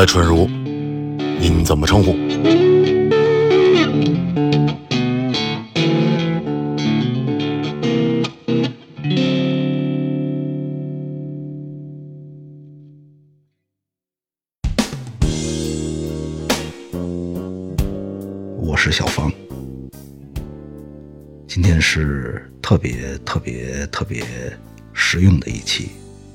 春如，您怎么称呼？ 我是小芳，今天是特别实用的一期。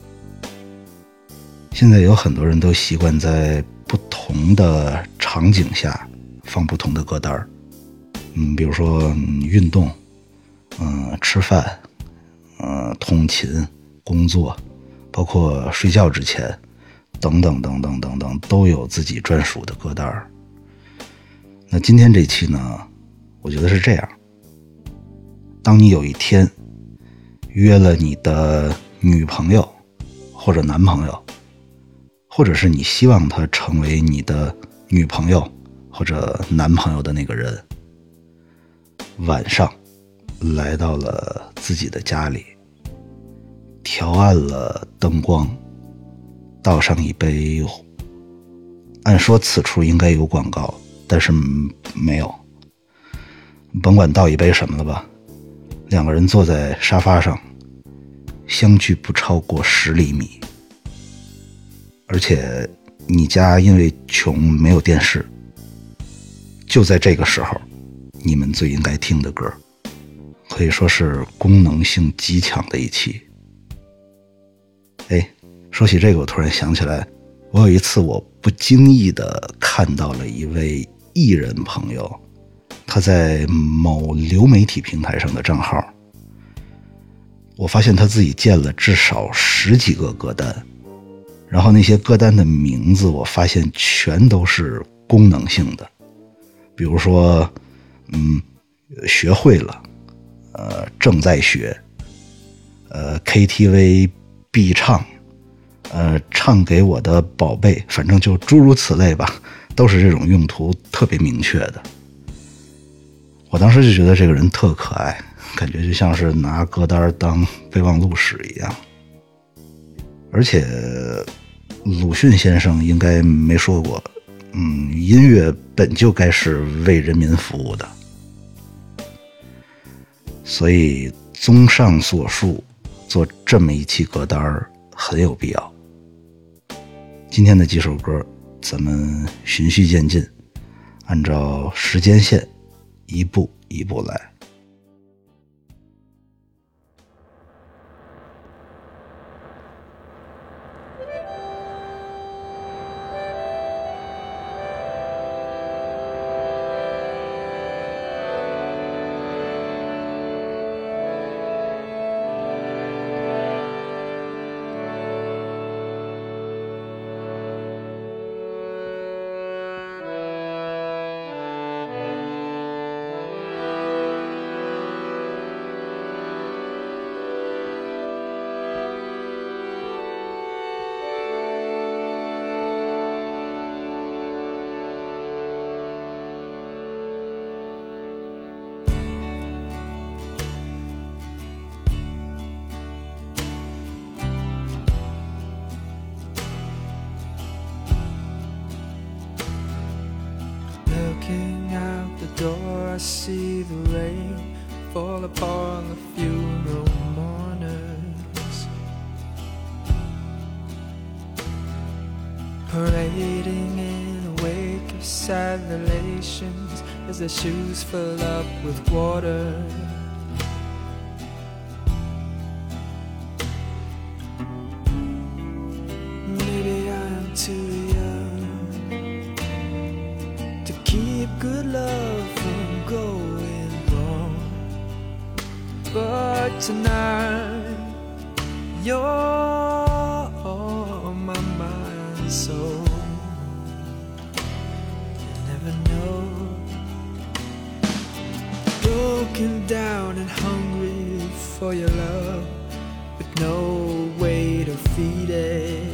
现在有很多人都习惯在不同的场景下放不同的歌单，比如说运动，吃饭，通勤，工作，包括睡觉之前，等等，都有自己专属的歌单。那今天这期呢，我觉得是这样：当你有一天约了你的女朋友或者男朋友，或者是你希望他成为你的女朋友或者男朋友的那个人，晚上来到了自己的家里，调暗了灯光，倒上一杯，按说此处应该有广告，但是没有，甭管倒一杯什么了吧，两个人坐在沙发上，相距不超过10厘米，而且你家因为穷没有电视，就在这个时候，你们最应该听的歌，可以说是功能性极强的一期。说起这个，我突然想起来，我有一次我不经意地看到了一位艺人朋友，他在某流媒体平台上的账号，我发现他自己建了至少10几个歌单，然后那些歌单的名字我发现全都是功能性的，比如说学会了，正在学，KTV 必唱，唱给我的宝贝，反正就诸如此类吧，都是这种用途特别明确的。我当时就觉得这个人特可爱，感觉就像是拿歌单当备忘录使一样。而且鲁迅先生应该没说过，音乐本就该是为人民服务的。所以综上所述，做这么一期歌单很有必要。今天的几首歌咱们循序渐进，按照时间线一步一步来。 Looking out the door, I see the rain fall upon the funeral mourners, parading in a wake of sad relations as their shoes fill up with water. Maybe I'm too keep good love from going wrong, but tonight you're my mind and soul. You never know, broken down and hungry for your love, with no way to feed it.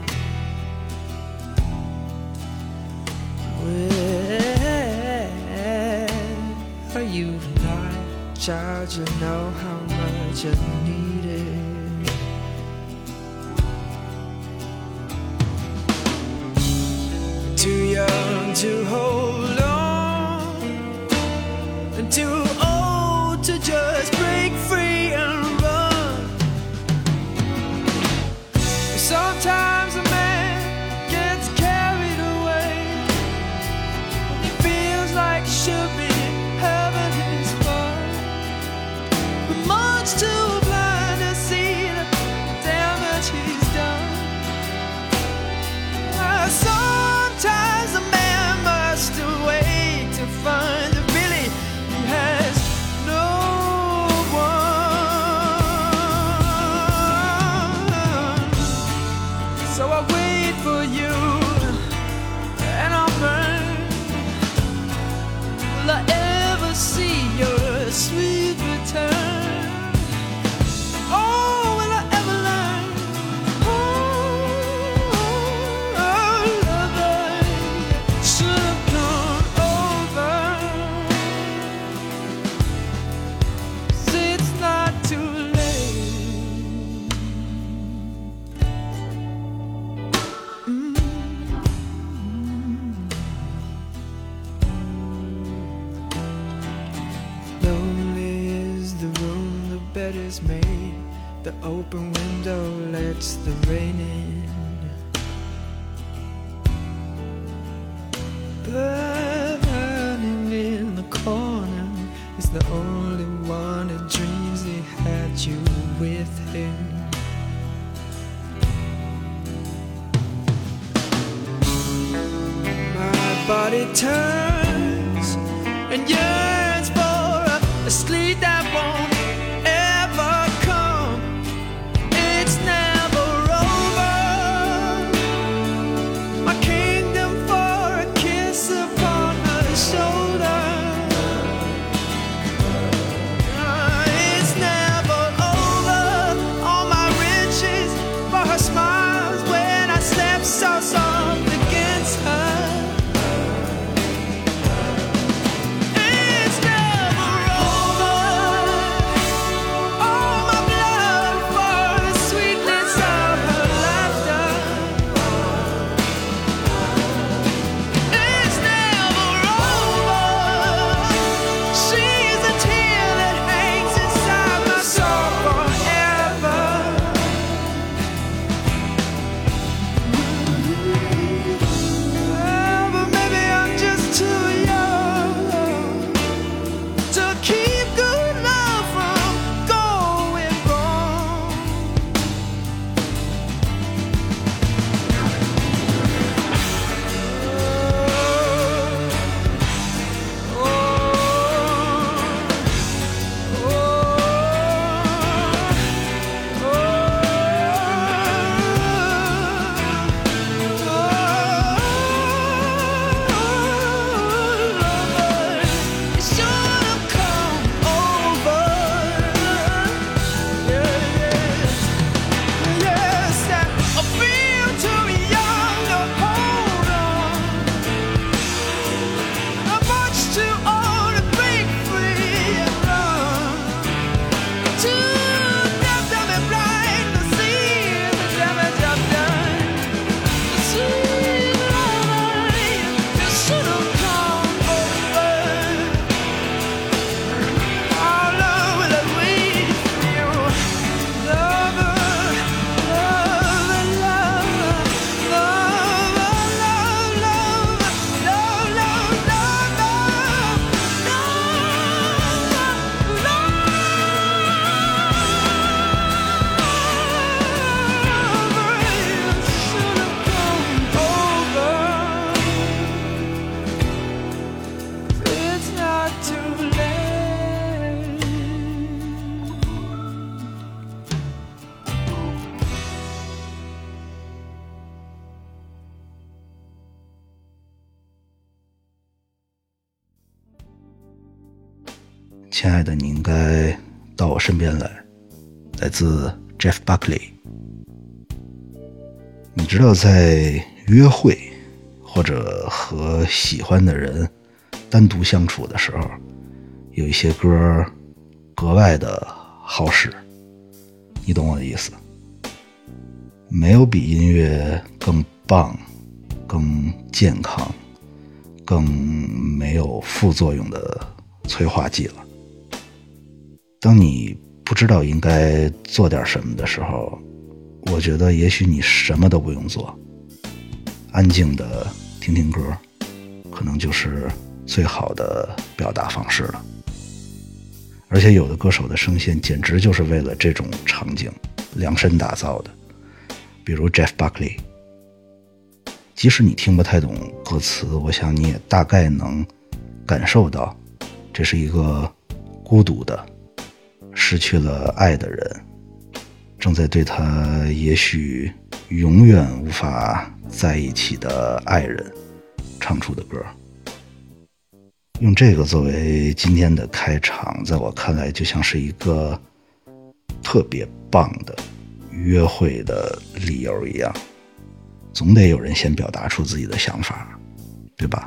Are you not, child? You know how much I need it. and too old to just break free and run. Sometimes a man gets carried away when he feels like should be having his fun, but much too blind to see the damage he's done. Sometimes a man must wait to find that really he has no one. So I wait for you and I'll burn. Will I ever see your sweet return? Oh, will I ever learn? Bed is made, the open window lets the rain in. Burning in the corner is the only one that dreams he had you with him. My body turns and yearns for a sleep that won't 亲爱的，你应该到我身边来，来自 Jeff Buckley。 你知道在约会或者和喜欢的人单独相处的时候，有一些歌格外的好使，你懂我的意思。没有比音乐更棒、更健康、更没有副作用的催化剂了。当你不知道应该做点什么的时候，我觉得也许你什么都不用做，安静的听听歌，可能就是最好的表达方式了。而且有的歌手的声线简直就是为了这种场景量身打造的，比如 Jeff Buckley。 即使你听不太懂歌词，我想你也大概能感受到，这是一个孤独的失去了爱的人，正在对他也许永远无法在一起的爱人唱出的歌。用这个作为今天的开场，在我看来就像是一个特别棒的约会的理由一样，总得有人先表达出自己的想法，对吧？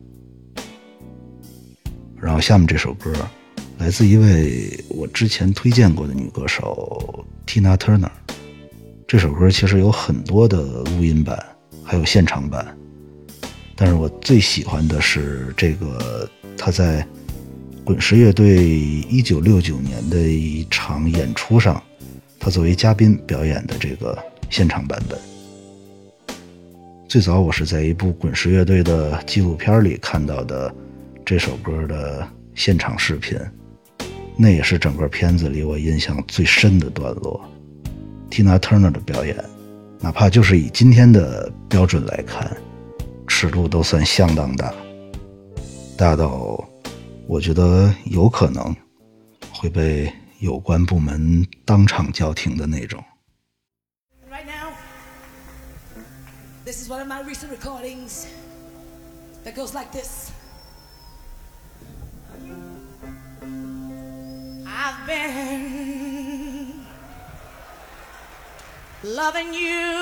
然后下面这首歌来自一位我之前推荐过的女歌手 Tina Turner。 这首歌其实有很多的录音版还有现场版，但是我最喜欢的是这个她在滚石乐队1969年的一场演出上，她作为嘉宾表演的这个现场版本。最早我是在一部滚石乐队的纪录片里看到的这首歌的现场视频，那也是整个片子里我印象最深的段落。 Tina Turner 的表演，哪怕就是以今天的标准来看，尺度都算相当大，大到我觉得有可能会被有关部门当场叫停的那种。 Right now, this is one of my recent recordings that goes like this. I've been loving you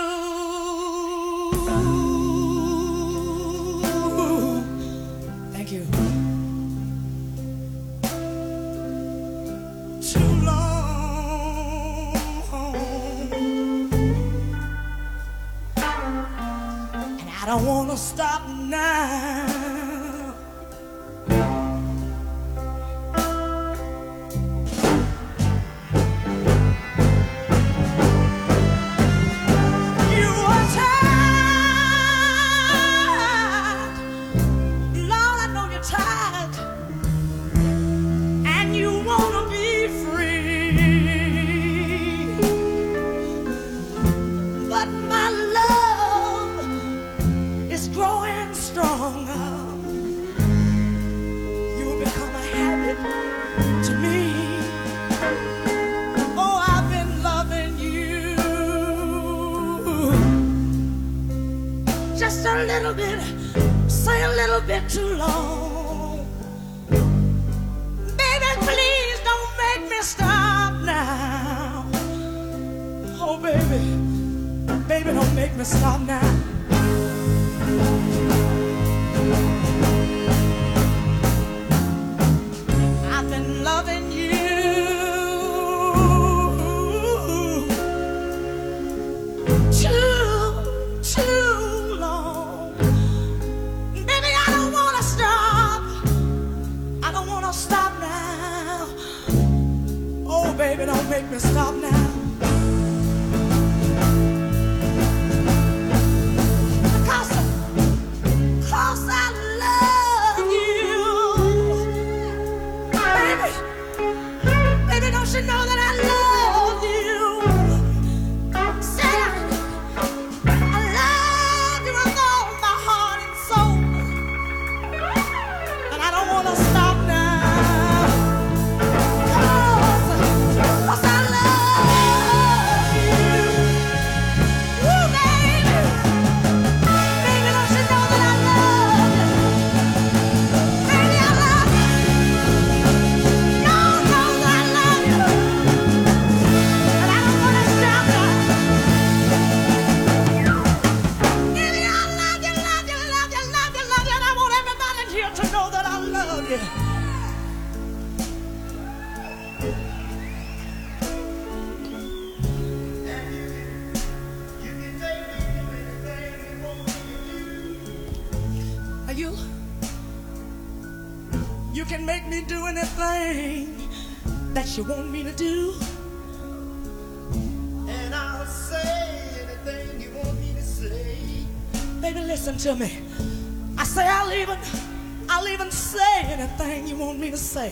thank you too long, and I don't want to stop now. Just a little bit, say a little bit too long. Baby, please don't make me stop now. Oh, baby, baby, don't make me stop now. I've been loving you too long. Baby, I don't wanna stop. I don't wanna stop now. Oh, baby, don't make me stop now. Cause I love you. Baby, don't you know that I love you? Say I love you with all my heart and soul. And I don't wanna stop now. Cause I love You can make me do anything that you want me to do. And I'll say anything you want me to say. Baby, listen to me. I say I'll even say anything you want me to say.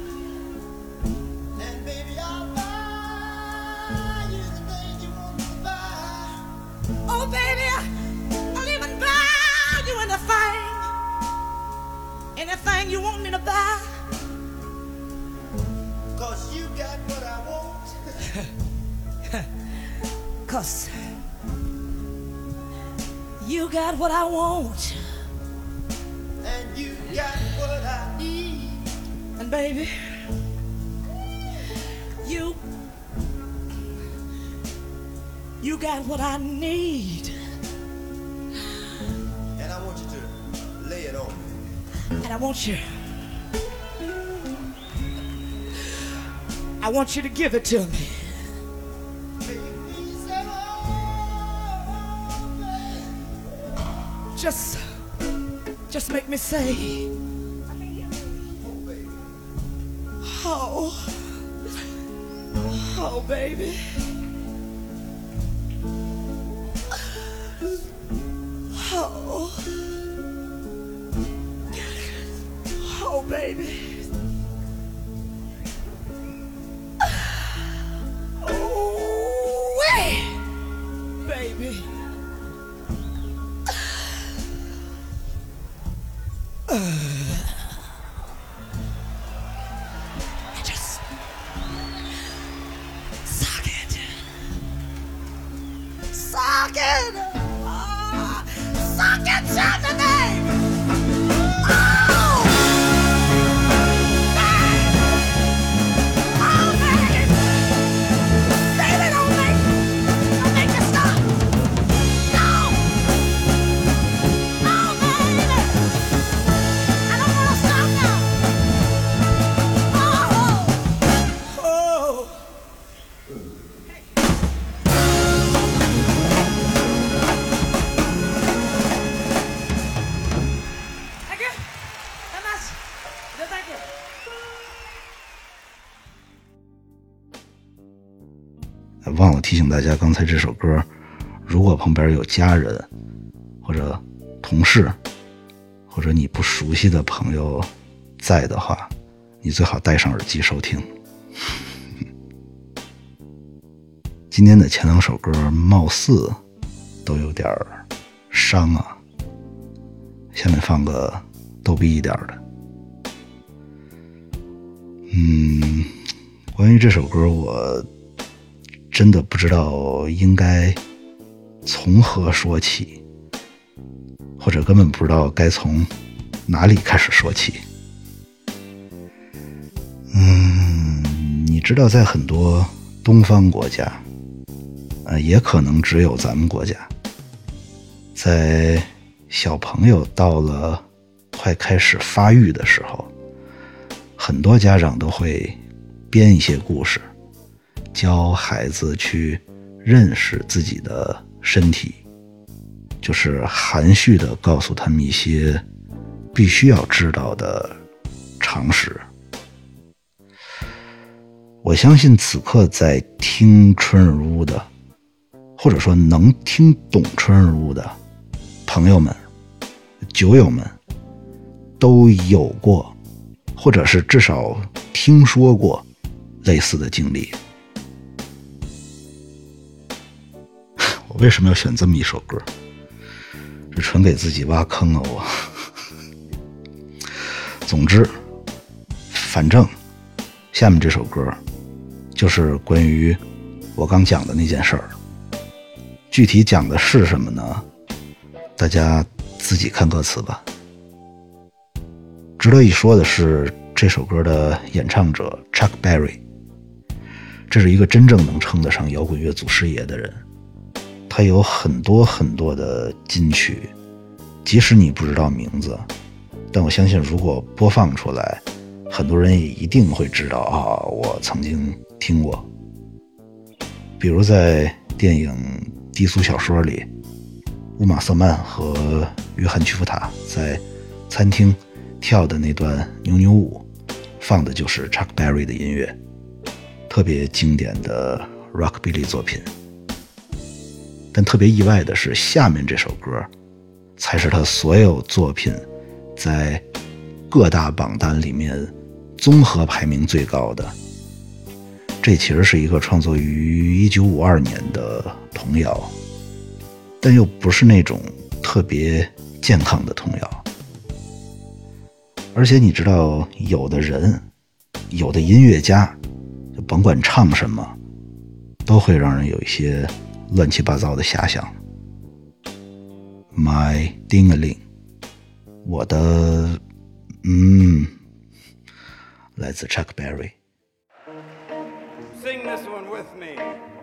And baby, I'll buy you the thing you want me to buy. Oh baby, I'll even buy you anything you want me to buy. 'Cause you got what I want. 'Cause you got what I want. And you got what I need. And baby, you got what I need. And I want you to lay it on me. And I want you to give it to me. Just make me say, oh, baby. Oh, baby. Oh, baby. Just suck it. Suck it. Suck it, Saturday. 忘了提醒大家，刚才这首歌，如果旁边有家人或者同事或者你不熟悉的朋友在的话，你最好戴上耳机收听。今天的前两首歌貌似都有点伤啊，下面放个逗逼一点的。关于这首歌我真的不知道应该从何说起，或者根本不知道该从哪里开始说起。你知道在很多东方国家，也可能只有咱们国家，在小朋友到了快开始发育的时候，很多家长都会编一些故事，教孩子去认识自己的身体，就是含蓄地告诉他们一些必须要知道的常识。我相信此刻在听春日屋的，或者说能听懂春日屋的朋友们、酒友们，都有过，或者是至少听说过类似的经历。我为什么要选这么一首歌？这纯给自己挖坑啊我。总之，反正下面这首歌就是关于我刚讲的那件事儿。具体讲的是什么呢？大家自己看歌词吧。值得一说的是，这首歌的演唱者 Chuck Berry， 这是一个真正能称得上摇滚乐祖师爷的人。他有很多很多的金曲，即使你不知道名字，但我相信如果播放出来，很多人也一定会知道啊，我曾经听过。比如在电影《低俗小说》里，乌玛瑟曼和约翰·屈服塔在餐厅跳的那段扭扭舞，放的就是 Chuck Berry 的音乐，特别经典的 Rockabilly 作品。但特别意外的是，下面这首歌才是他所有作品在各大榜单里面综合排名最高的。这其实是一个创作于1952年的童谣，但又不是那种特别健康的童谣。而且你知道，有的人，有的音乐家，就甭管唱什么，都会让人有一些乱七八糟的遐想。My Ding-a-ling， 我的来自 Chuck Berry。Sing this one with me.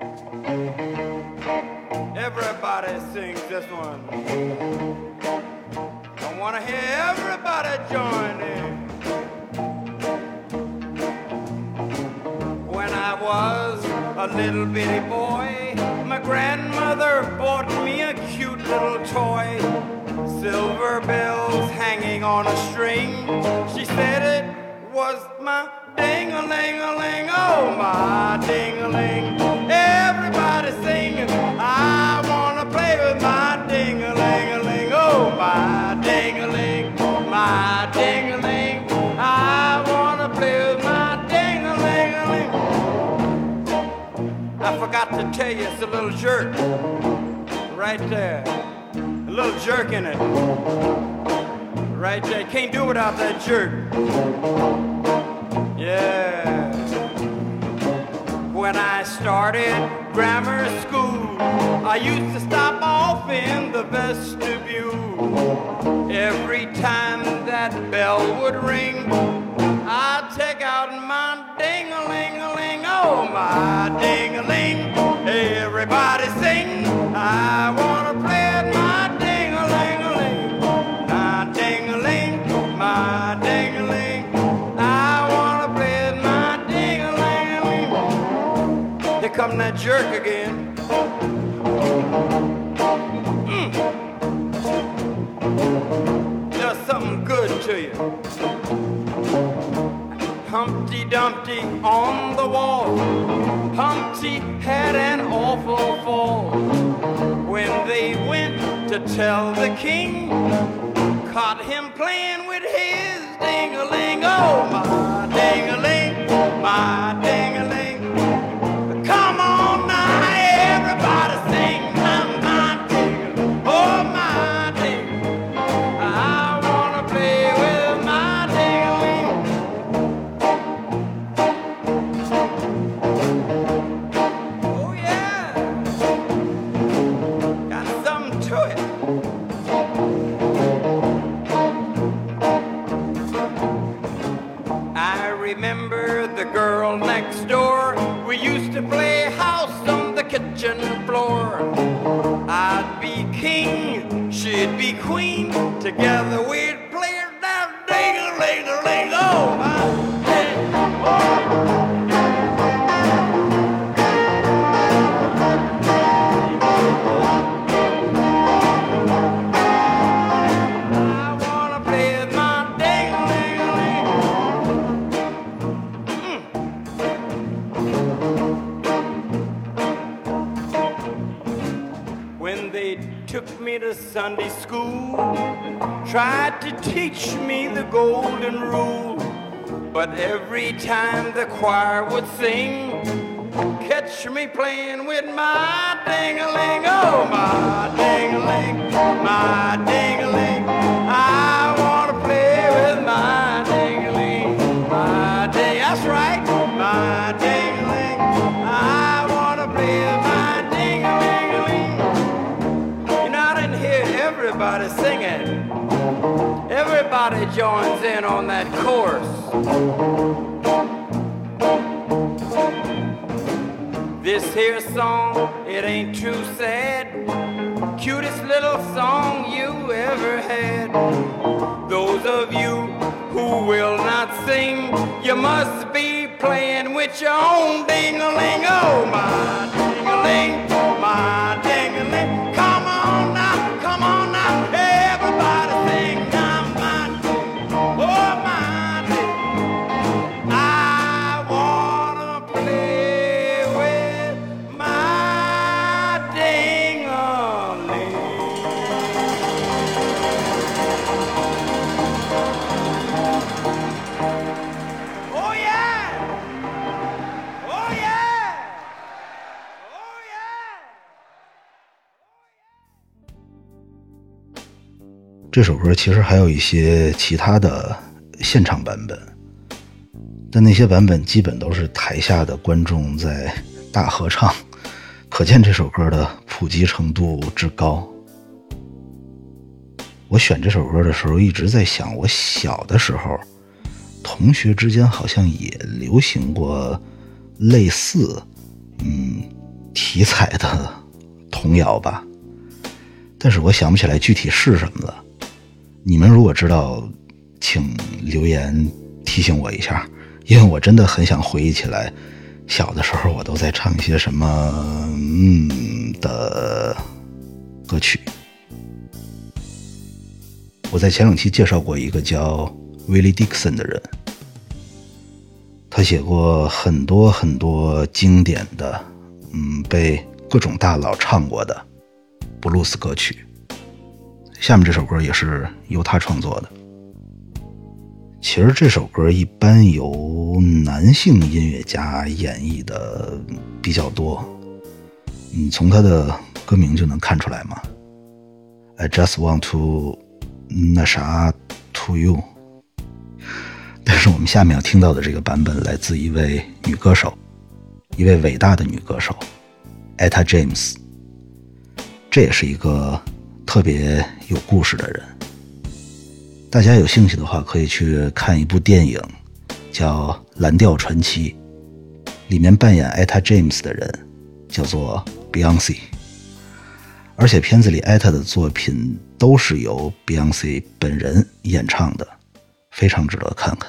Everybody sings this one. I want to hear everybody join in. When I was a little bitty boy, my grandmother bought me a cute little toy. Silver bells hanging on a string. She said it was my ding-a-ling-a-ling, oh my ding-a-ling. Everybody sing, I wanna play with my ding-a-ling-a-ling, oh my ding-a-ling, my ding-a-ling. I wanna play with my ding-a-ling-a-ling. I forgot to tell you, it's a little jerk right there, a little jerk in it. Right there, can't do without that jerk. Yeah. When I started grammar school, I used to stop off in the vestibule. Every time that bell would ring, I'd take out my ding-a-ling-a-ling, oh my ding-a-ling. Everybody sing, I wanna play at my ding-a-ling-a-ling, my ding-a-ling, my ding-a-ling. I wanna play at my ding-a-ling-a-ling. Here come that jerk again. Does something good to you. Humpty Dumpty on the wall. Humpty had an awful fall. When they went to tell the king, caught him playing with his ding-a-ling. Oh, my ding-a-ling, my ding-a-ling. Come on now, everybody sing my ding-a-ling. Oh, my ding-a-ling. I wanna play with my ding-a-ling. Oh, yeah. Got something to it. I remember the girl next door. We used to play house on the kitchen floor. I'd be king, she'd be queen. Together we'd play it down, ding-a-ling-a-ling. Oh, my ding. I wanna play with my ding-a-ling-a-ling. When they took me to Sunday school, tried to teach me the golden rule, but every time the choir would sing, catch me playing with my ding-a-ling. Oh, my ding-a-ling, my ding-a-ling. I wanna play with my ding-a-ling, my ding. That's right, my ding-a-ling. I wanna play with my ding-a-ling-a-ling. You know, I didn't hear everybody singing. Everybody joins in on that chorus. This here song, it ain't too sad. Cutest little song you ever had. Those of you who will not sing, you must be playing with your own ding-a-ling. Oh, my ding-a-ling, my ding-a-ling. Come on now, everybody sing now, my ding. Oh, 这首歌其实还有一些其他的现场版本，但那些版本基本都是台下的观众在大合唱，可见这首歌的普及程度之高。我选这首歌的时候一直在想，我小的时候同学之间好像也流行过类似题材的童谣吧，但是我想不起来具体是什么了。你们如果知道请留言提醒我一下，因为我真的很想回忆起来小的时候我都在唱一些什么的歌曲。我在前两期介绍过一个叫 Willie Dixon 的人，他写过很多很多经典的被各种大佬唱过的布鲁斯歌曲。下面这首歌也是由他创作的。其实这首歌一般由男性音乐家演绎的比较多，从他的歌名就能看出来嘛。 I just want to 那啥 to you。 但是我们下面要听到的这个版本来自一位女歌手，一位伟大的女歌手 Etta James。 这也是一个特别有故事的人，大家有兴趣的话可以去看一部电影叫《蓝调传奇》，里面扮演 Etta James 的人叫做 Beyoncé， 而且片子里 Etta 的作品都是由 Beyoncé 本人演唱的，非常值得看看。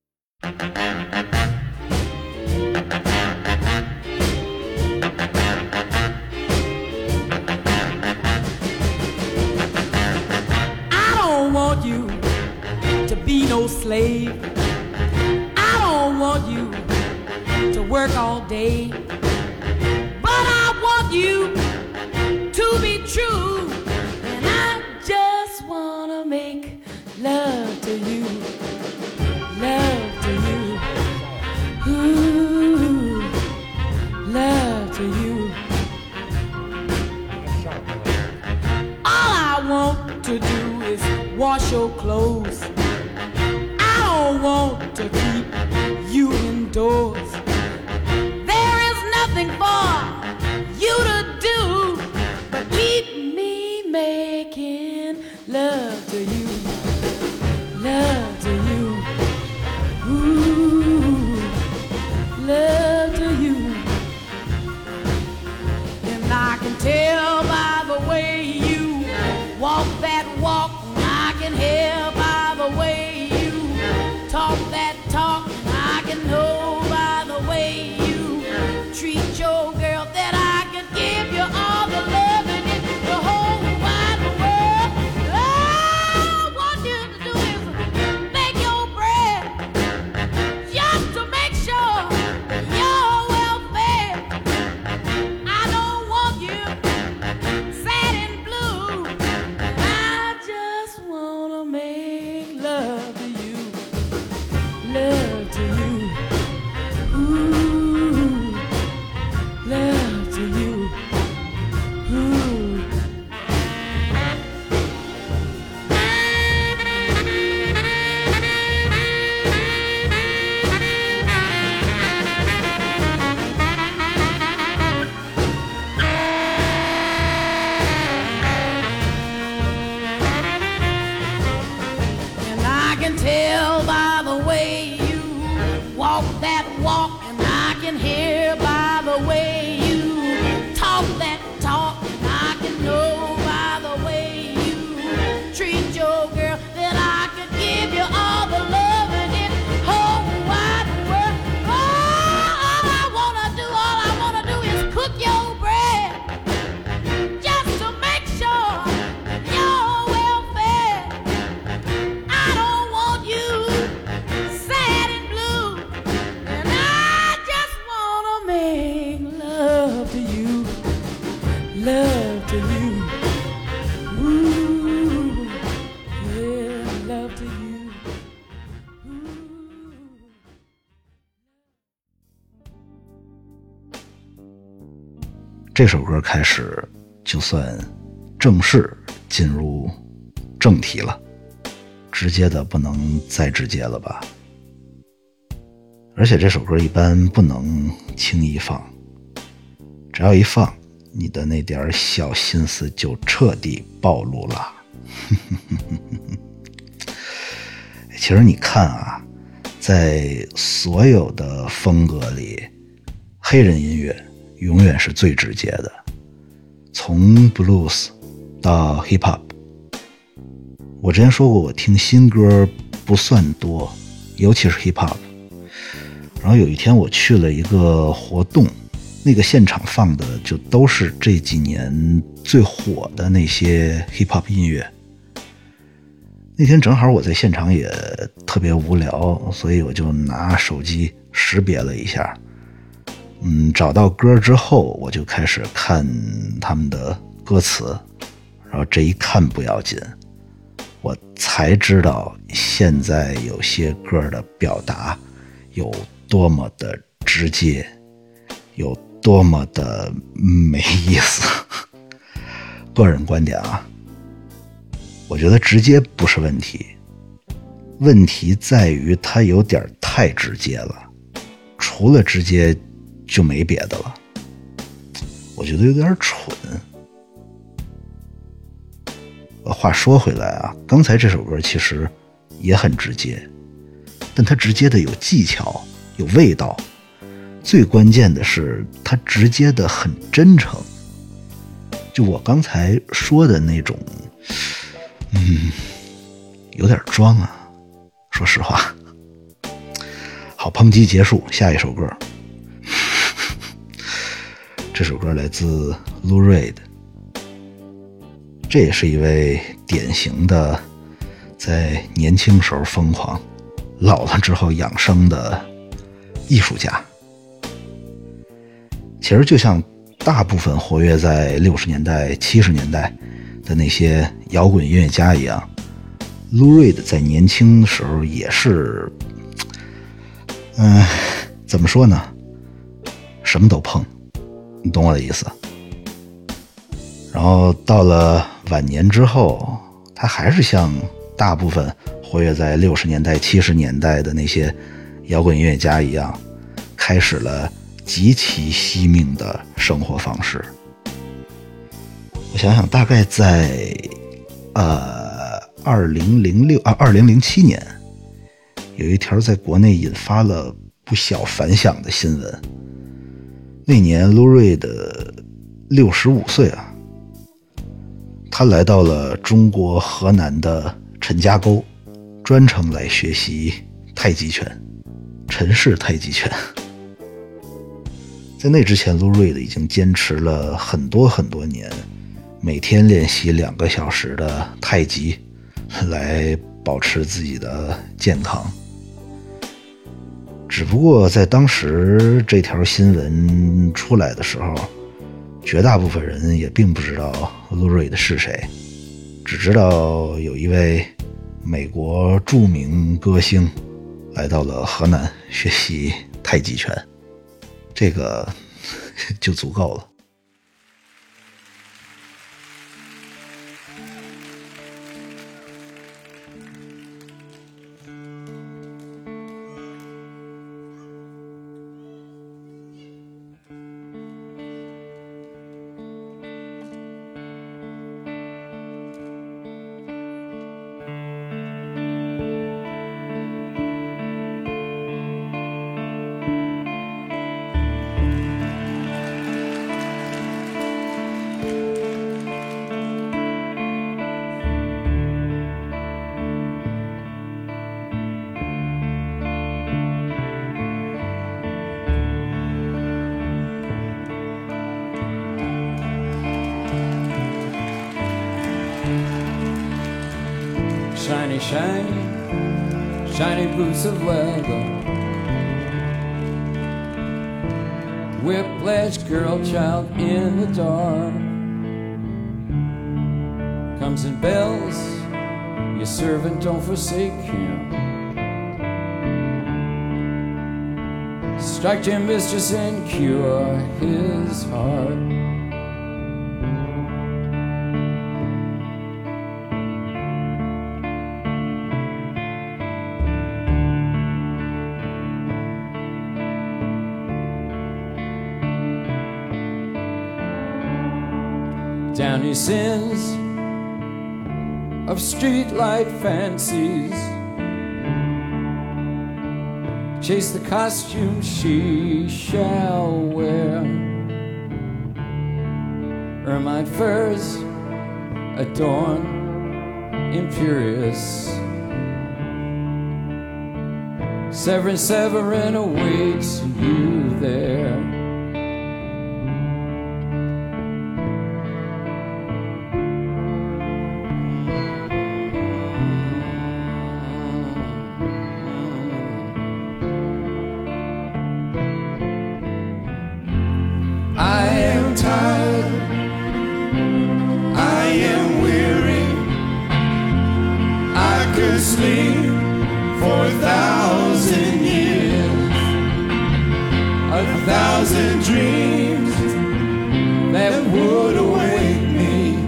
Be no slave. I don't want you to work all day, but I want you to be true, and I just wanna make love to you, love to you, ooh, love to you. All I want to do is wash your clothes. I don't want to keep you indoors. There is nothing for you to do but keep me making love to you, love to you, ooh, love to you. And I can tell by the way you walk that walk, and I can hear by the way talk that talk, I can know by the way you treat your girl that I can give you all the love in the whole wide world. All I want you to do is make your bread just to make sure you're well fed. I don't want you sad and blue, I just want to make love to you, love to you, ooh, love to you, ooh. And I can tell by the way walk that walk, and I can hear by the way you talk that talk, and I can know by the way you treat your girl that I could give you all the love in this whole wide world. All I wanna do is cook your bread just to make sure you're well fed. I don't want you sad and blue, and I just wanna make love to you, love to you, ooh, yeah, love to you, ooh. 这首歌开始就算正式进入正题了，直接的不能再直接了吧。而且这首歌一般不能轻易放，只要一放，你的那点小心思就彻底暴露了。其实你看啊，在所有的风格里，黑人音乐永远是最直接的，从 blues 到 hip hop。我之前说过，我听新歌不算多，尤其是 hip hop。然后有一天我去了一个活动，那个现场放的就都是这几年最火的那些 hip hop 音乐。那天正好我在现场也特别无聊，所以我就拿手机识别了一下，找到歌之后，我就开始看他们的歌词，然后这一看不要紧，我才知道现在有些歌的表达有多么的直接，有多么的没意思。个人观点啊，我觉得直接不是问题，问题在于它有点太直接了，除了直接就没别的了，我觉得有点蠢。话说回来啊，刚才这首歌其实也很直接，但它直接的有技巧，有味道，最关键的是它直接的很真诚。就我刚才说的那种有点装啊，说实话。好，抨击结束，下一首歌。这首歌来自 Lou Reed， 这也是一位典型的在年轻时候疯狂，老了之后养生的艺术家。其实就像大部分活跃在60年代、70年代的那些摇滚音乐家一样，Lou Reed在年轻的时候也是，怎么说呢？什么都碰，你懂我的意思。然后到了晚年之后，他还是像大部分活跃在60年代、70年代的那些摇滚音乐家一样，开始了极其惜命的生活方式。我想想，大概在2007年，有一条在国内引发了不小反响的新闻。那年Lou Reed65岁啊，他来到了中国河南的陈家沟，专程来学习太极拳，陈氏太极拳。在那之前，Lou Reed已经坚持了很多年，每天练习2个小时的太极，来保持自己的健康。只不过在当时这条新闻出来的时候，绝大部分人也并不知道Lou Reed是谁，只知道有一位美国著名歌星来到了河南学习太极拳，这个就足够了。 Shiny, shiny, shiny boots of leather. Whiplash girl child in the dark. Comes in bells, your servant don't forsake him. Strike your mistress and cure his heart. Downy sins of streetlight fancies. Chase the costume she shall wear. Ermine furs adorn imperious. Severin, Severin awaits you there. I am tired, I am weary, I could sleep for 1,000 years, 1,000 dreams that would awake me.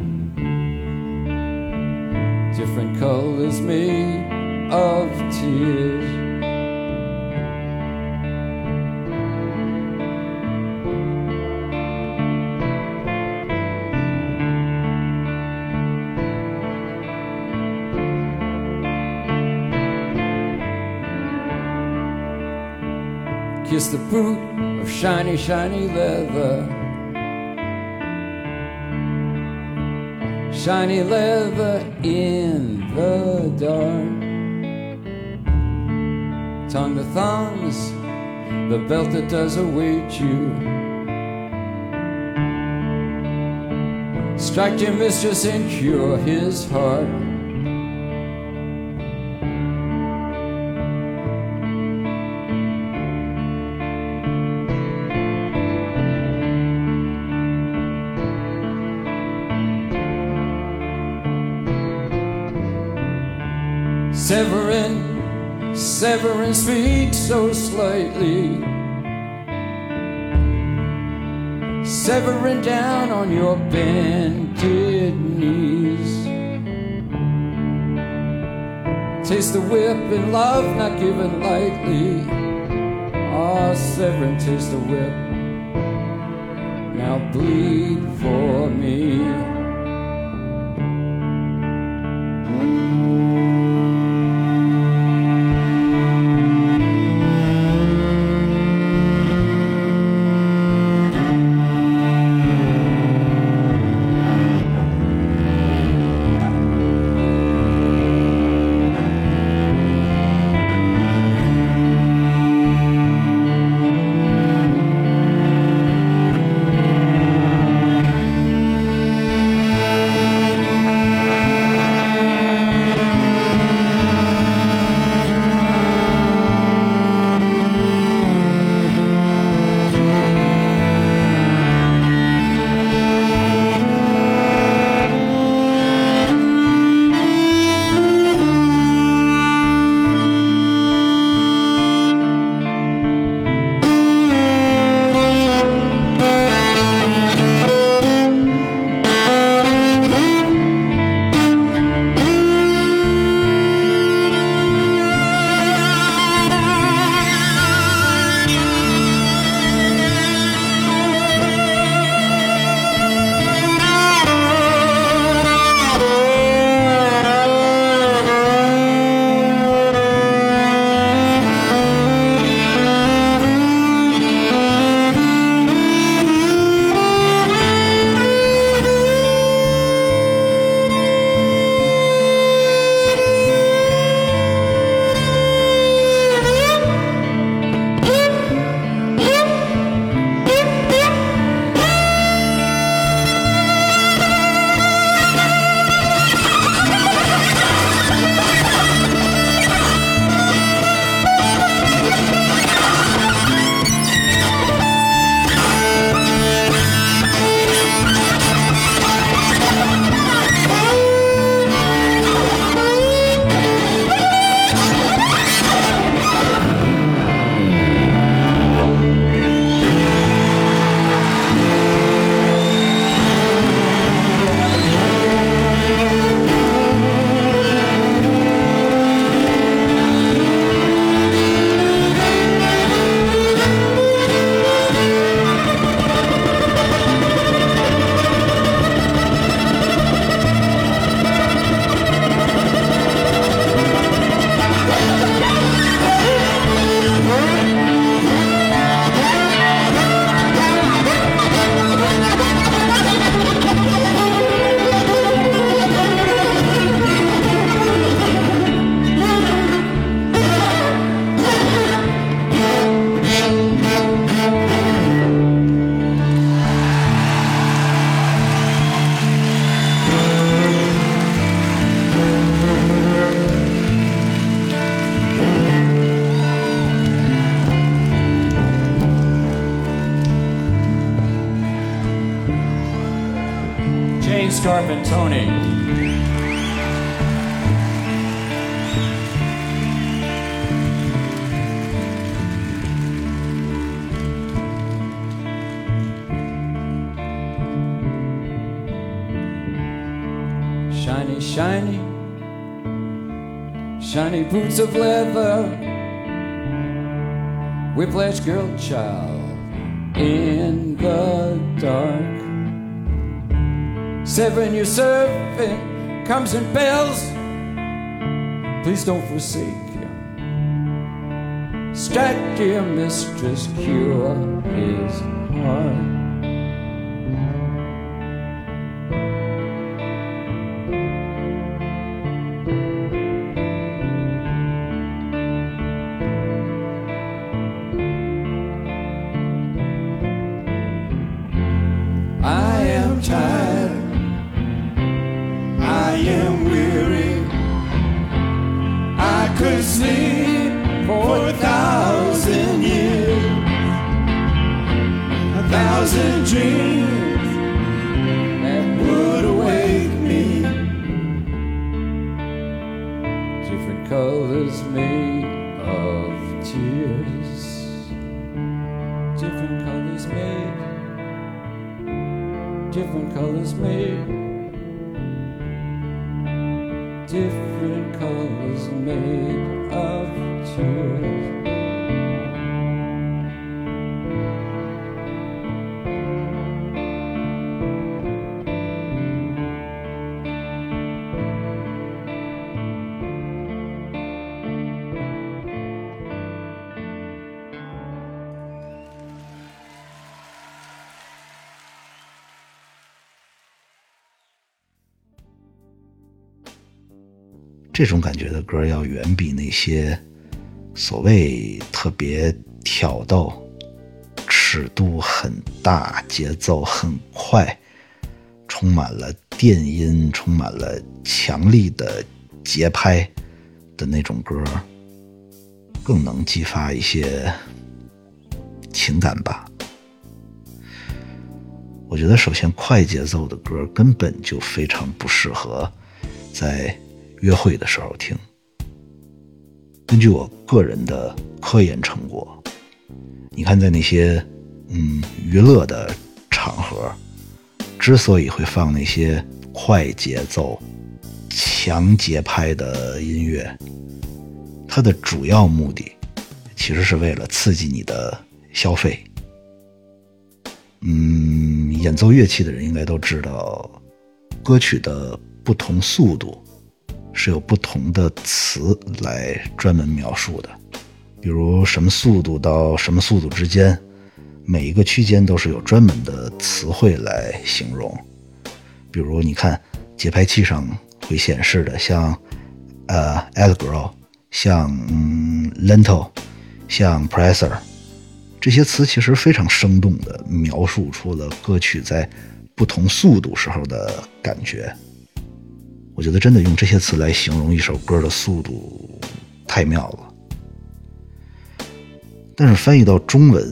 Different colors made of tears. Kiss the boot of shiny, shiny leather. Shiny leather in the dark. Tongue the thongs, the belt that does await you. Strike your mistress and cure his heart. Severin, Severin speaks so slightly. Severin down on your bended knees. Taste the whip in love not given lightly. Ah, Severin, taste the whip. Now bleed for me. Scarp and Tony. Shiny, shiny, shiny boots of leather, whiplash girl child in the dark. Severing your servant comes in bells. Please don't forsake him. Strike your mistress, cure his heart. Sleep for 1,000 years, 1,000 dreams that would awake me. Different colors made of tears. Different colors made. Different colors made. Different colors made of tears. 这种感觉的歌要远比那些所谓特别挑逗、尺度很大、节奏很快、充满了电音、充满了强力的节拍的那种歌更能激发一些情感吧。我觉得首先快节奏的歌根本就非常不适合在约会的时候听。根据我个人的科研成果，你看在那些娱乐的场合，之所以会放那些快节奏、强节拍的音乐，它的主要目的其实是为了刺激你的消费。演奏乐器的人应该都知道，歌曲的不同速度是有不同的词来专门描述的，比如什么速度到什么速度之间，每一个区间都是有专门的词汇来形容。比如你看节拍器上会显示的，像allegro， 像lento， 像 presser， 这些词其实非常生动地描述出了歌曲在不同速度时候的感觉。我觉得真的用这些词来形容一首歌的速度太妙了。但是翻译到中文，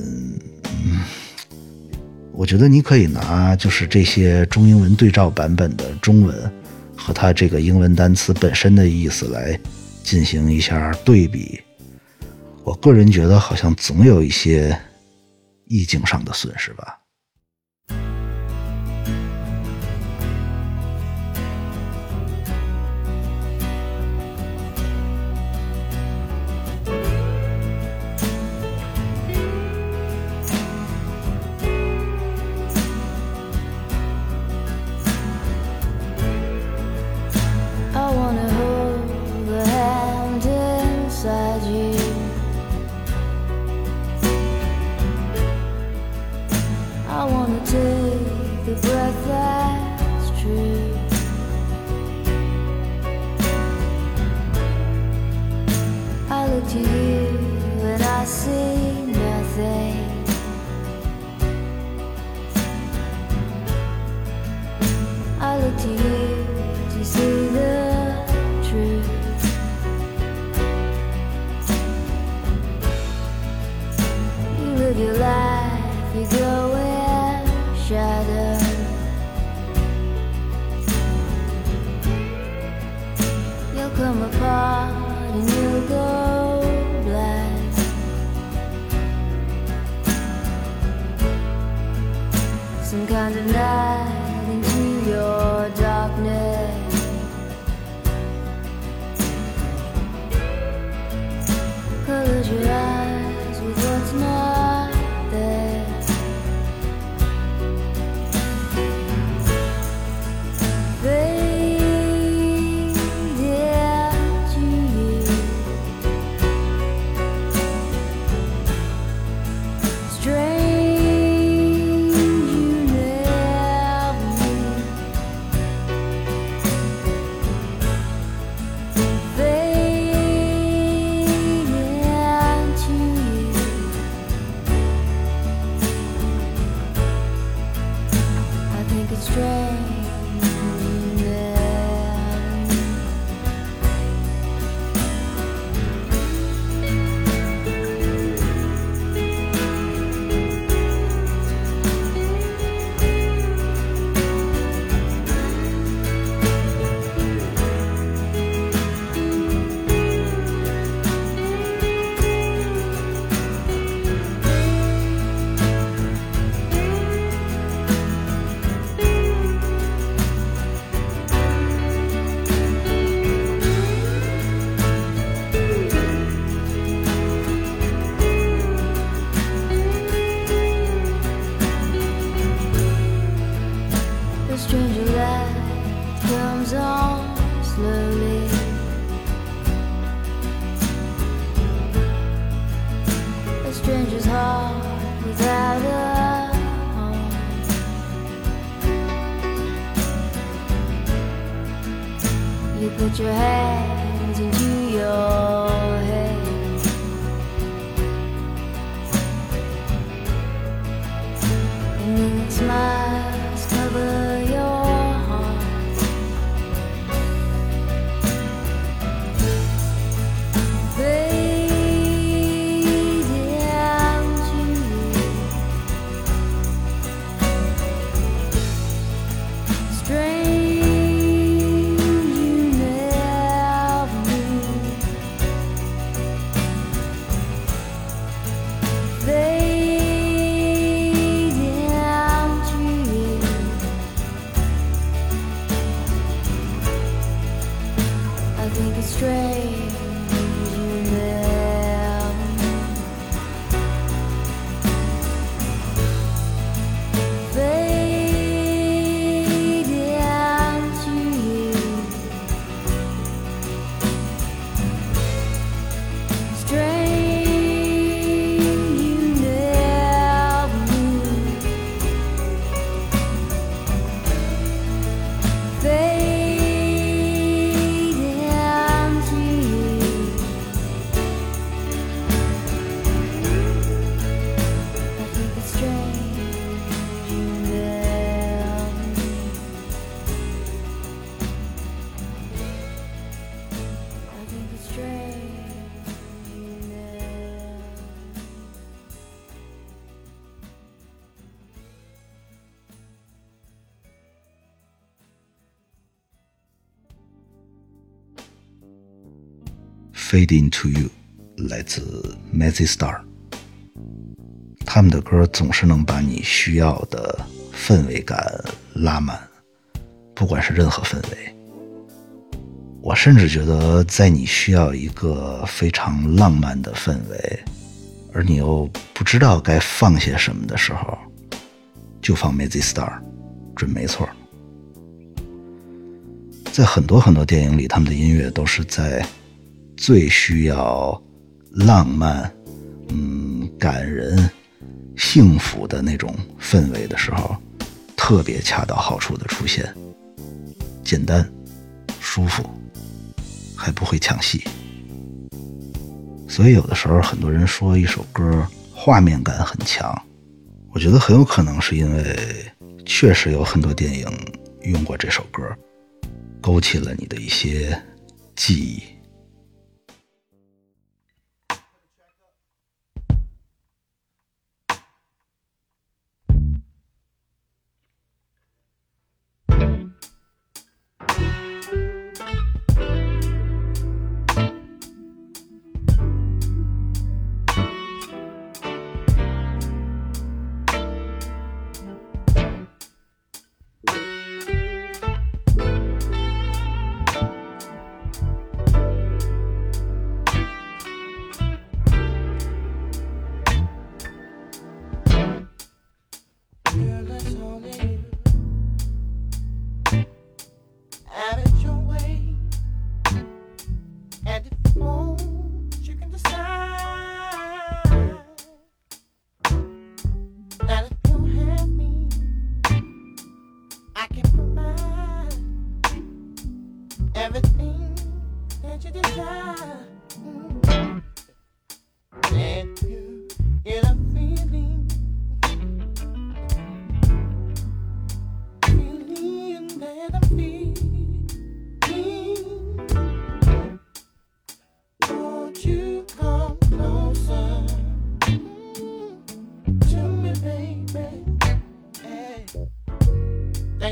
我觉得你可以拿就是这些中英文对照版本的中文和它这个英文单词本身的意思来进行一下对比。我个人觉得好像总有一些意境上的损失吧。 apart and you'll go black. Some kind of night into your darkness. Close your eyes with what's not there. Fade into you. Strange you never knew. Fade into you. I think it's strange. The stranger light comes on slowly. A stranger's heart without a home. You put your hands into your head. And then smiles cover your heart. Fade into you. Strange you never knew. Fade into you. I think it's strange you never knew. Fade into you. Strange you never knew. Fade into you. I think it's strange you never knew. I think it's strange you never. Fade into you 来自 Mazzy Star， 他们的歌总是能把你需要的氛围感拉满，不管是任何氛围。我甚至觉得在你需要一个非常浪漫的氛围，而你又不知道该放些什么的时候，就放 Mazzy Star 准没错。在很多很多电影里，他们的音乐都是在最需要浪漫、感人、幸福的那种氛围的时候，特别恰到好处的出现，简单、舒服，还不会抢戏。所以有的时候很多人说一首歌画面感很强，我觉得很有可能是因为确实有很多电影用过这首歌，勾起了你的一些记忆。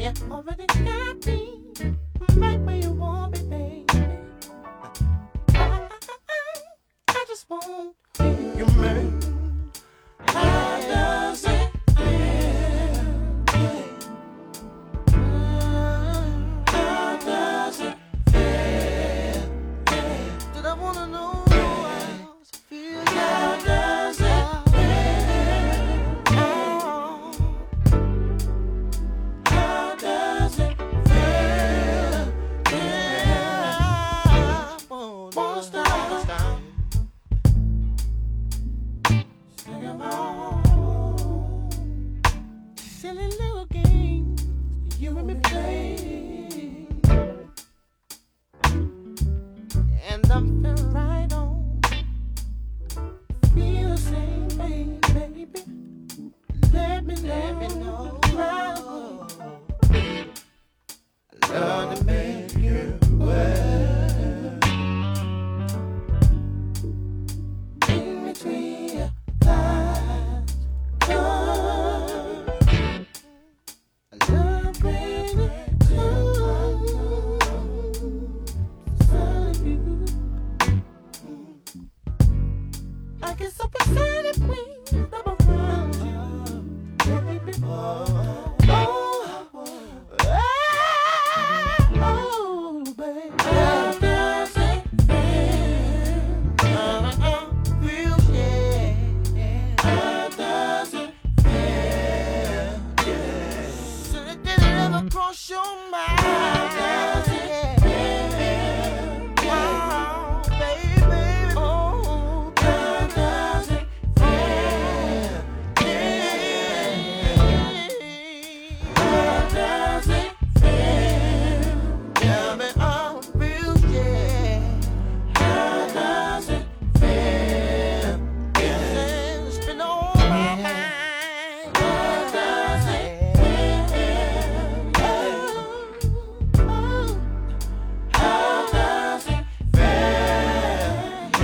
You already got me right where you want me, baby. I just want you, man. How does it feel? How does it feel? Did I wanna know how it feels? How does it feel? How does it feel? Yeah. Wanna stop. Sing along. Silly little games you and me play. And I'm feeling right on. Feel the same way, baby. Let me know. Love to make you well. In between your thighs, I love bringing to you. I get so excited when I'm around you, baby. Oh, baby. How does it feel? Feel, yeah. How does it feel? Yeah. So did it ever cross your mind? How does it feel? Oh, baby. Oh, how does it feel? Yeah. How does it feel? Yeah, man, I feel, yeah. How does it feel? Yeah, it's been on my mind. How does it feel? Oh, how does it feel?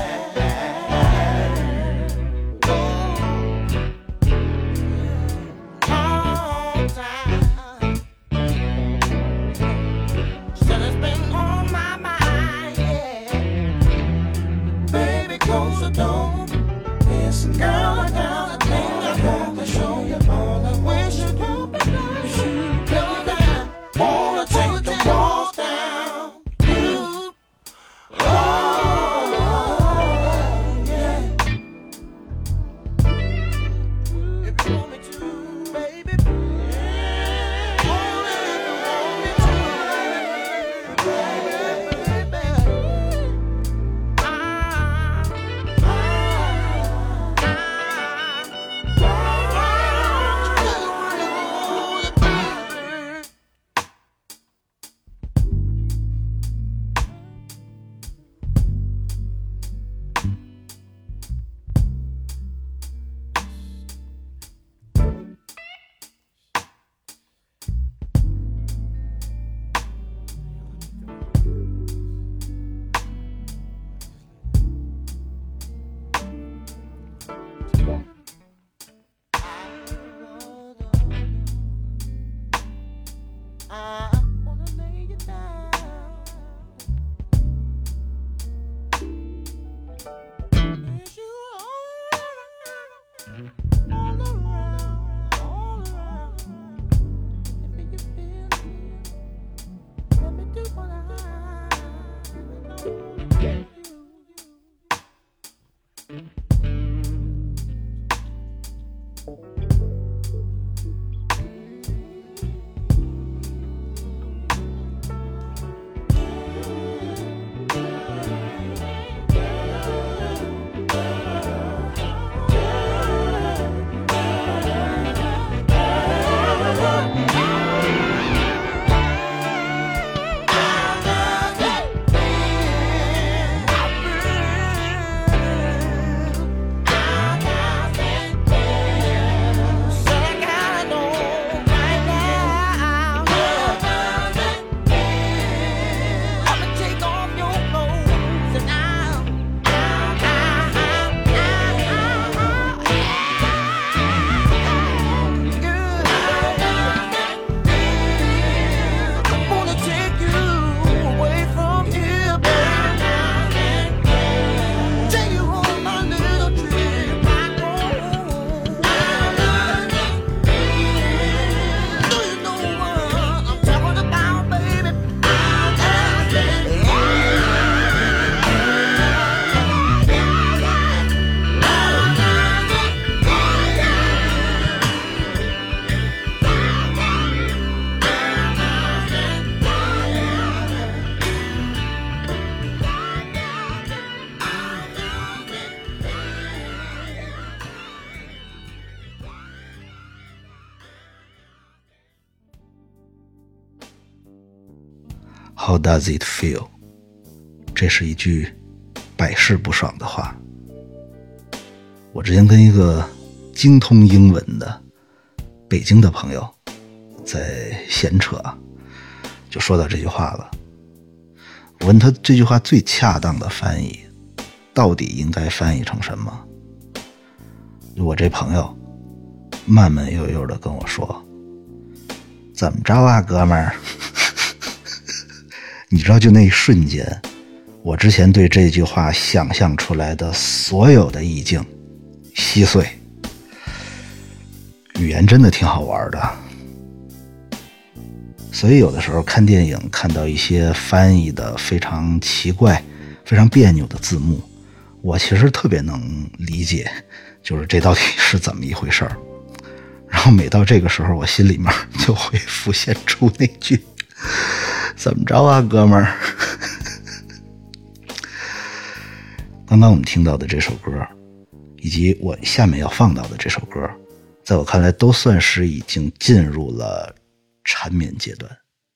All time. Said it's been on my mind, yeah. Baby, close the door. Listen, girl, I got a thing I want to show you. All I wish you could be down. Go down. Wanna take the walls down. You. Oh, yeah. If you want me to, baby. Only if you want me to, baby. I wanna lay you down. Is you all around, all around? If you feel it, let me do what I know to you. How How does it feel？ 这是一句百试不爽的话。我之前跟一个精通英文的北京的朋友在闲扯，就说到这句话了。我问他这句话最恰当的翻译到底应该翻译成什么？我这朋友慢慢悠悠的跟我说，怎么着啊哥们儿？你知道就那一瞬间，我之前对这句话想象出来的所有的意境稀碎。语言真的挺好玩的，所以有的时候看电影看到一些翻译的非常奇怪非常别扭的字幕，我其实特别能理解，就是这到底是怎么一回事儿。然后每到这个时候，我心里面就会浮现出那句怎么着啊哥们儿。刚刚我们听到的这首歌以及我下面要放到的这首歌，在我看来都算是已经进入了缠绵阶段。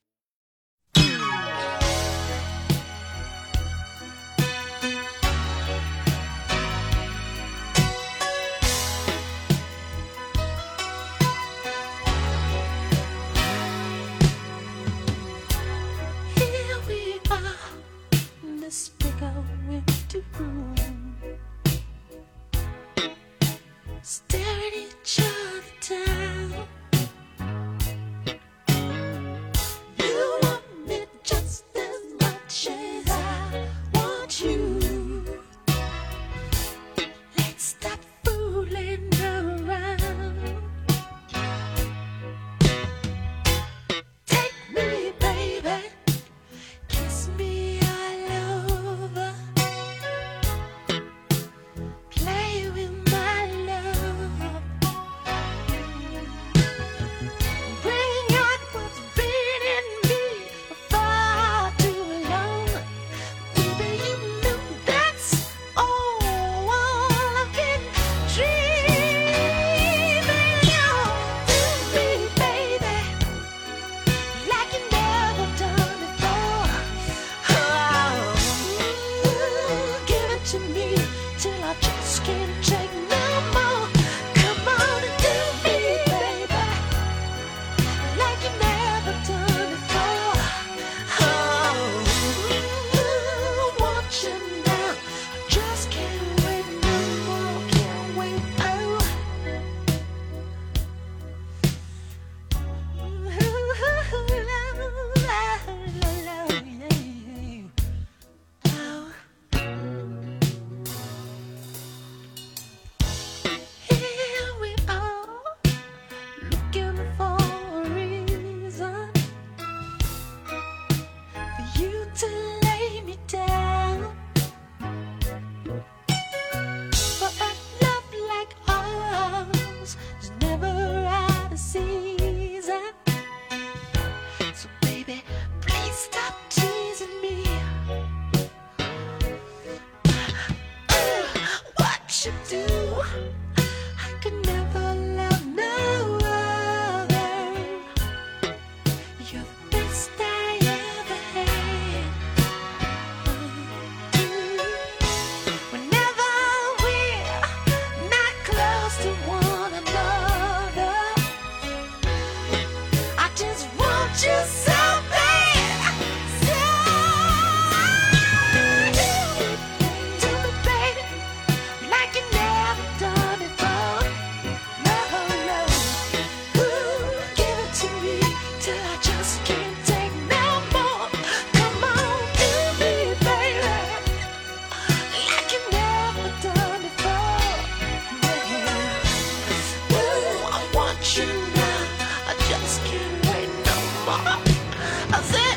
Here we are in this big old empty room, staring each other down. You want me just as much as I want you. Let's stop fooling around. Take me, baby, kiss me all over. Play with my love. Bring out what's been in me for far too long. Baby, you know that's all I've been dreaming of. Do me, baby, like you never done before. Oh, give it to me till I just can't take no more. Come on and do me, baby, like you never done before. Oh, want you now, I just can't wait no more, can't wait. Here we are, looking for a reason for you to lay me down. But a love like ours is never out of season. So baby, please stop teasing me. What you do, I could never love no other. You're the best I ever had. Whenever we're not close to one another, I just want you so bad. So do me, baby, like you never done before. No, no. Ooh, give it to me till I just can't take no more. Come on, do me, baby, like you never done before. Yeah. Ooh, I want you now, I just can't wait no more. I said,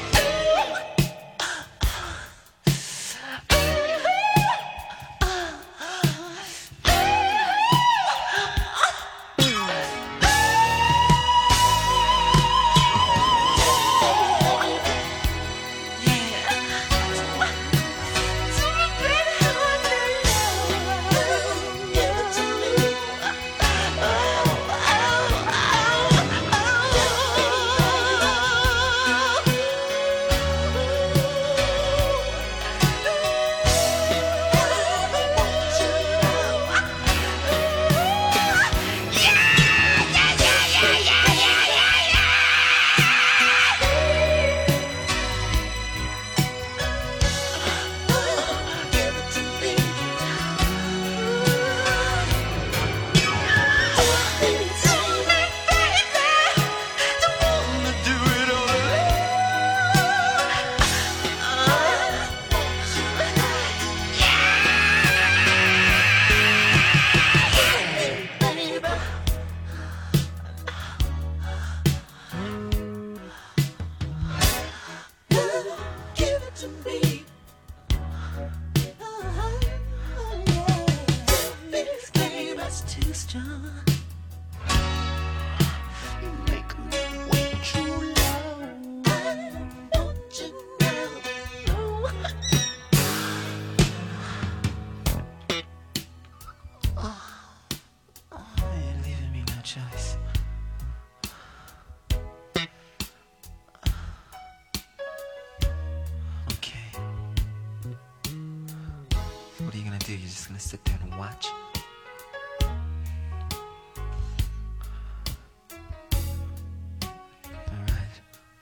sister. You make me way too long. I want you now. You're leaving me no choice. Okay. What are you gonna do? You're just gonna sit there and watch? Alright.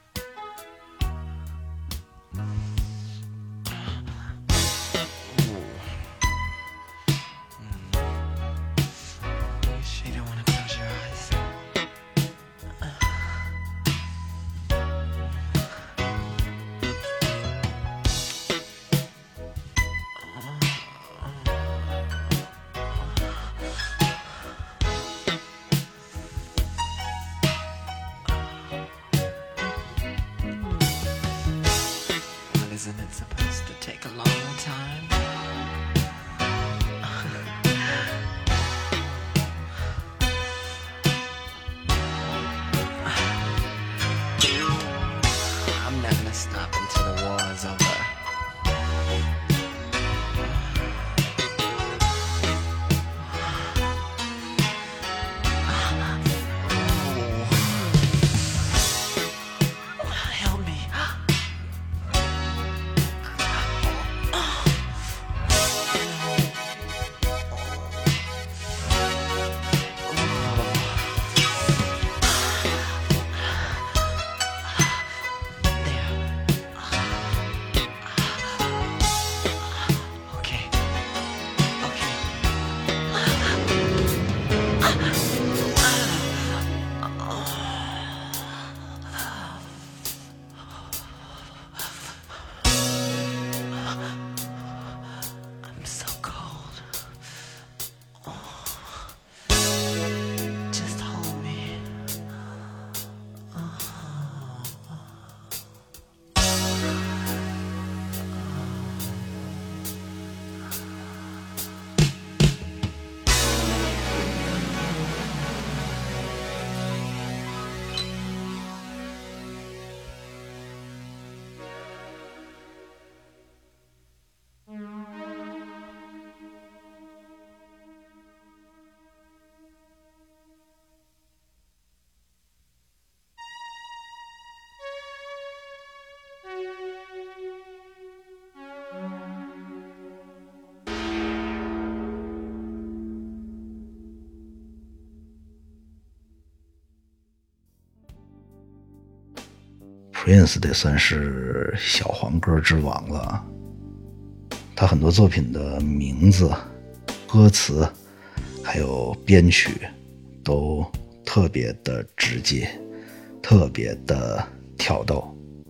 You sure you don't wanna close your eyes? Well, isn't it supposed to take a long time? I'm not gonna stop until the war is over. Help me. Okay. Okay. I'm so cold. Just hold me. Prince 得算是小黄歌之王了。他很多作品的名字、歌词还有编曲都特别的直接，特别的挑逗。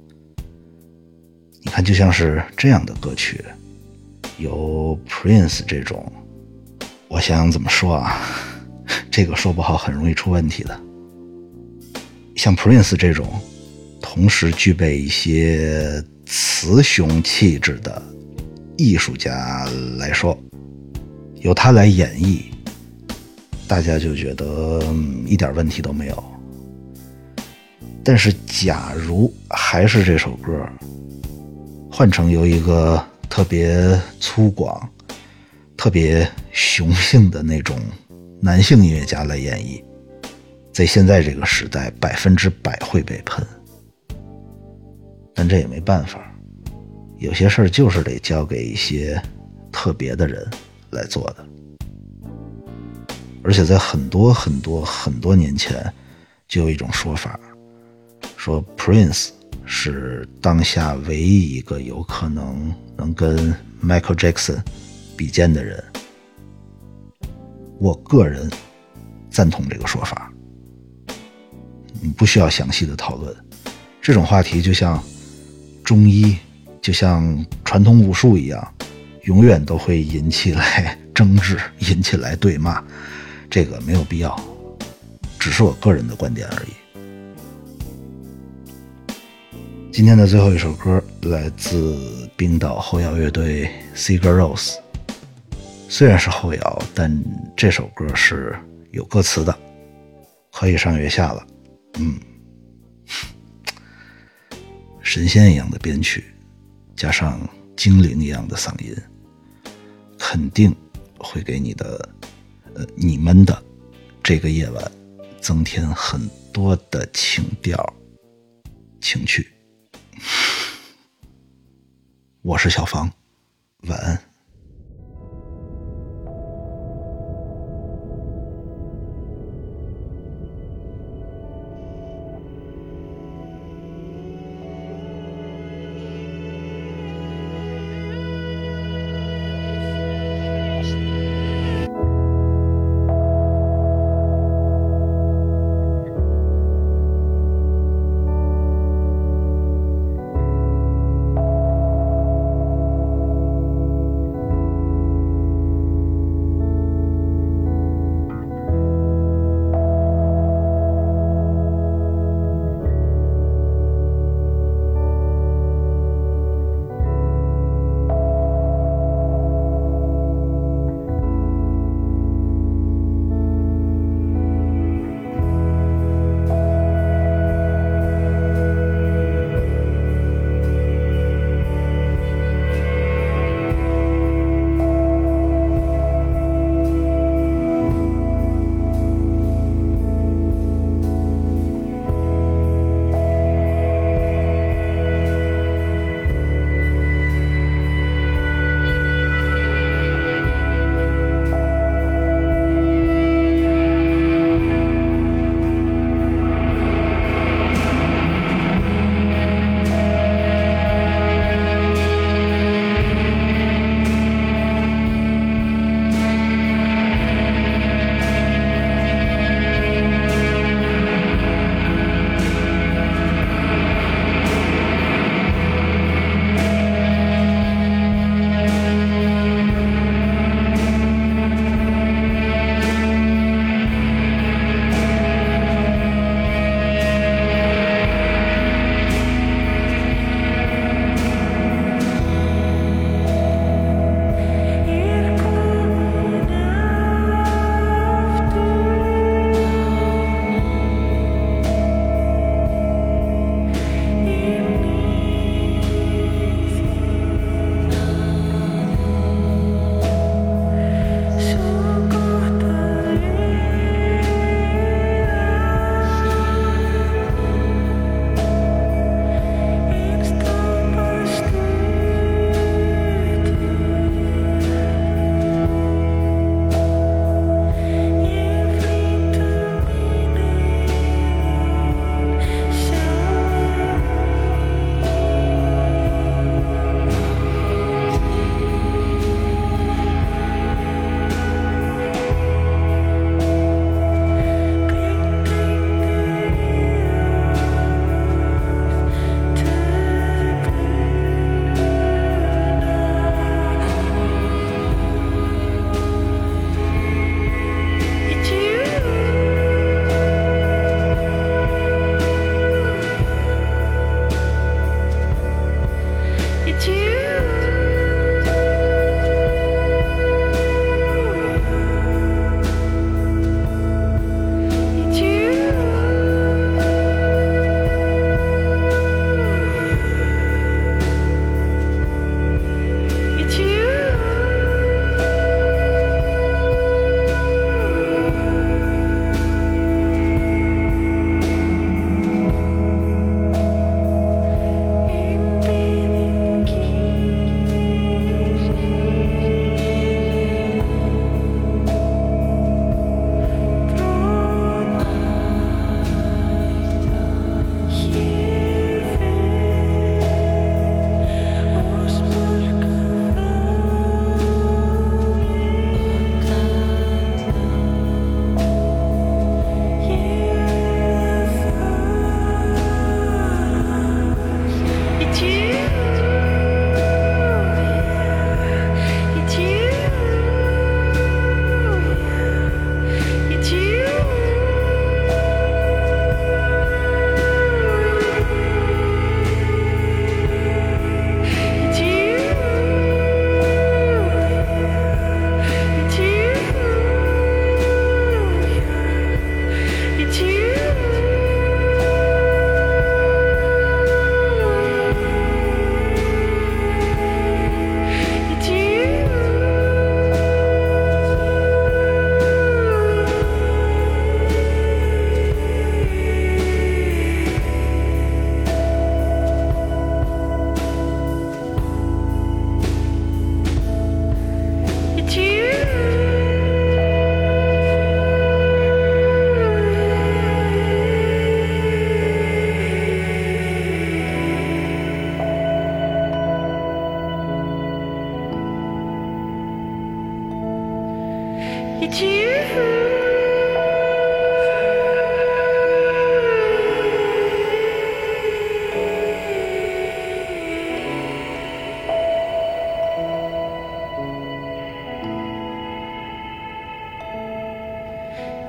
你看，就像是这样的歌曲，有 Prince 这种，我想怎么说啊，这个说不好很容易出问题的。像 Prince 这种同时具备一些雌雄气质的艺术家来说，由他来演绎，大家就觉得一点问题都没有。但是假如还是这首歌换成由一个特别粗犷、特别雄性的那种男性音乐家来演绎，在现在这个时代100%会被喷。但这也没办法，有些事儿就是得交给一些特别的人来做的。而且在很多年前就有一种说法，说 Prince 是当下唯一一个有可能跟 Michael Jackson 比肩的人。我个人赞同这个说法，你不需要详细的讨论。这种话题就像中医，就像传统武术一样，永远都会引起来争执，引起来对骂，这个没有必要，只是我个人的观点而已。今天的最后一首歌来自冰岛后摇乐队 Sigur Rós， 虽然是后摇，但这首歌是有歌词的，可以上月下了。神仙一样的编曲，加上精灵一样的嗓音，肯定会给你们的这个夜晚增添很多的情调情趣。我是小房，晚安。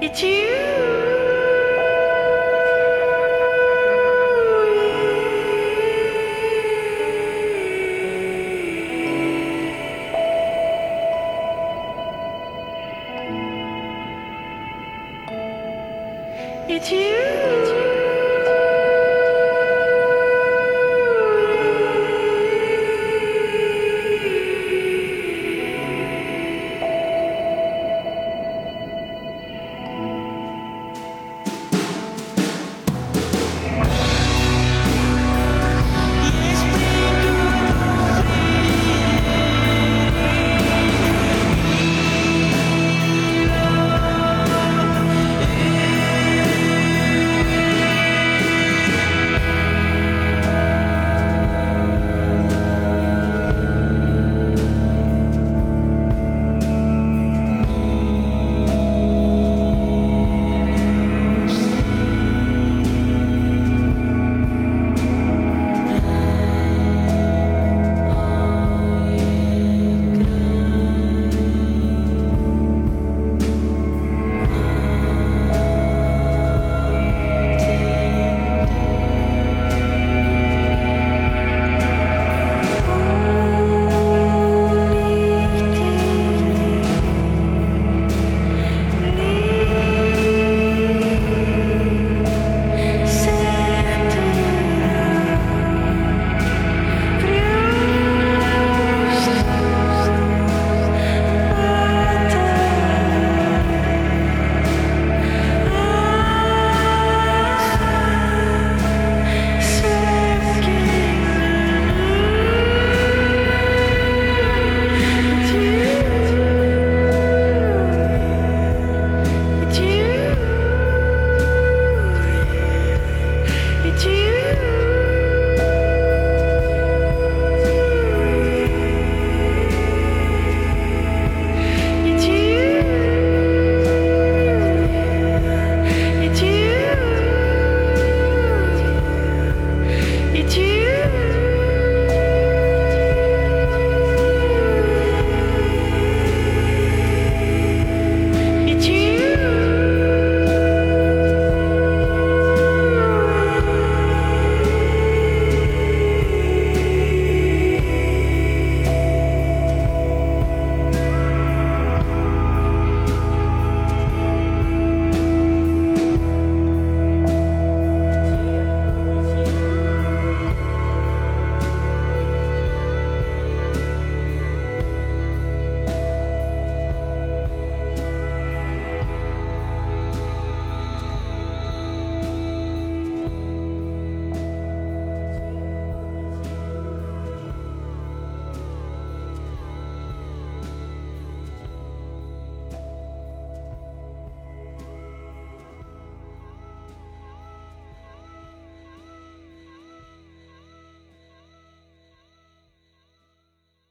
It's you. It's you.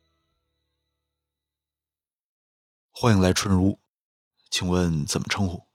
欢迎来春如，请问怎么称呼？